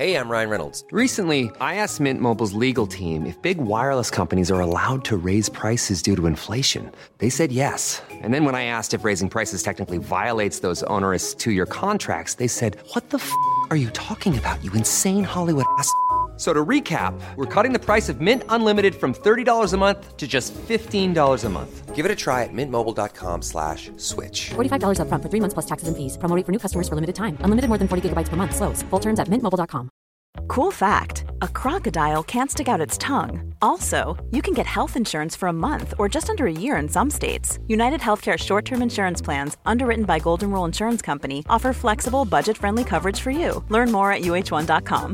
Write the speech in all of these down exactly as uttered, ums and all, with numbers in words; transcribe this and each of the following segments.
Hey, I'm Ryan Reynolds. Recently, I asked Mint Mobile's legal team if big wireless companies are allowed to raise prices due to inflation. They said yes. And then when I asked if raising prices technically violates those onerous two-year contracts, they said, what the f*** are you talking about, you insane Hollywood ass f- So to recap, we're cutting the price of Mint Unlimited from thirty dollars a month to just fifteen dollars a month. Give it a try at mintmobile.com slash switch. forty-five dollars up front for three months plus taxes and fees. Promo rate for new customers for limited time. Unlimited more than forty gigabytes per month. Slows full terms at mint mobile dot com. Cool fact, a crocodile can't stick out its tongue. Also, you can get health insurance for a month or just under a year in some states. United Healthcare short-term insurance plans, underwritten by Golden Rule Insurance Company, offer flexible, budget-friendly coverage for you. Learn more at U H one dot com.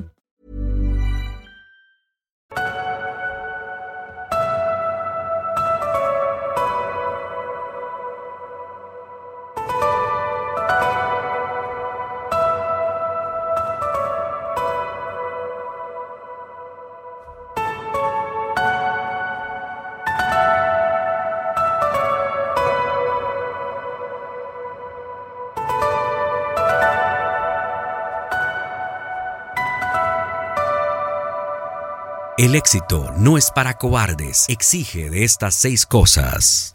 El éxito no es para cobardes, exige de estas seis cosas.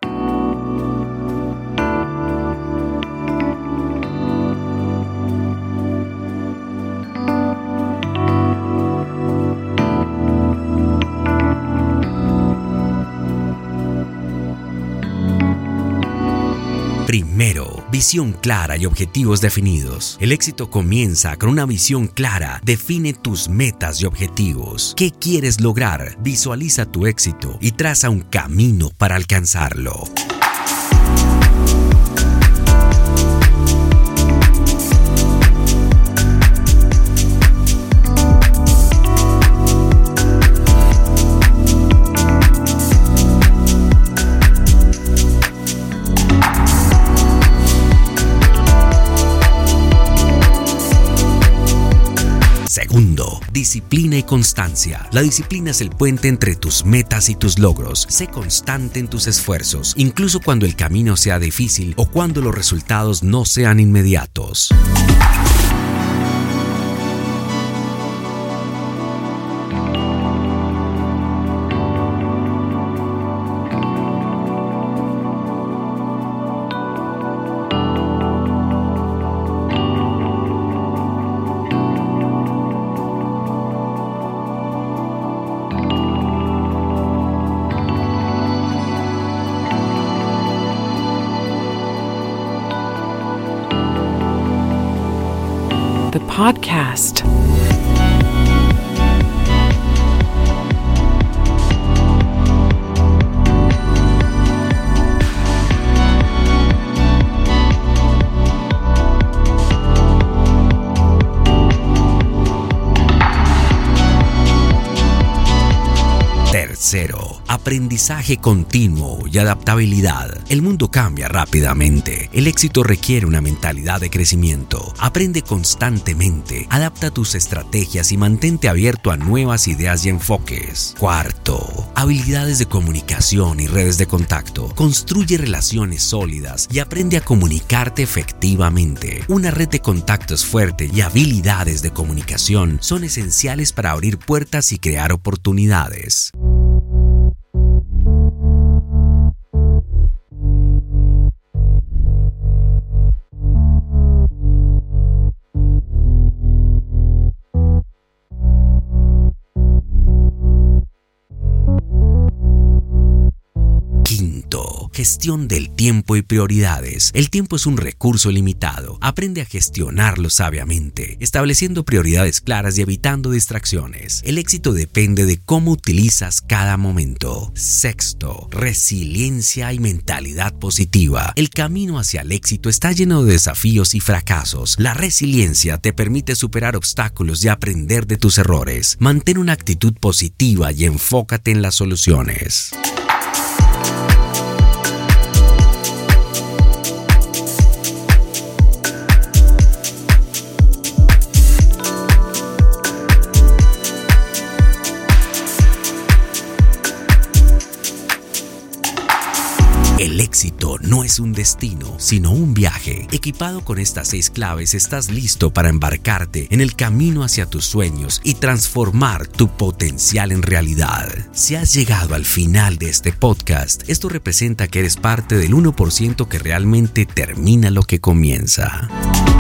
Primero, visión clara y objetivos definidos. El éxito comienza con una visión clara. Define tus metas y objetivos. ¿Qué quieres lograr? Visualiza tu éxito y traza un camino para alcanzarlo. Segundo, disciplina y constancia. La disciplina es el puente entre tus metas y tus logros. Sé constante en tus esfuerzos, incluso cuando el camino sea difícil o cuando los resultados no sean inmediatos. The podcast. Tercero, aprendizaje continuo y adaptabilidad. El mundo cambia rápidamente. El éxito requiere una mentalidad de crecimiento. Aprende constantemente, adapta tus estrategias y mantente abierto a nuevas ideas y enfoques. Cuarto, habilidades de comunicación y redes de contacto. Construye relaciones sólidas y aprende a comunicarte efectivamente. Una red de contactos fuerte y habilidades de comunicación son esenciales para abrir puertas y crear oportunidades. Gestión del tiempo y prioridades. El tiempo es un recurso limitado. Aprende a gestionarlo sabiamente, estableciendo prioridades claras y evitando distracciones. El éxito depende de cómo utilizas cada momento. Sexto, resiliencia y mentalidad positiva. El camino hacia el éxito está lleno de desafíos y fracasos. La resiliencia te permite superar obstáculos y aprender de tus errores. Mantén una actitud positiva y enfócate en las soluciones. El éxito no es un destino, sino un viaje. Equipado con estas seis claves, estás listo para embarcarte en el camino hacia tus sueños y transformar tu potencial en realidad. Si has llegado al final de este podcast, esto representa que eres parte del uno por ciento que realmente termina lo que comienza.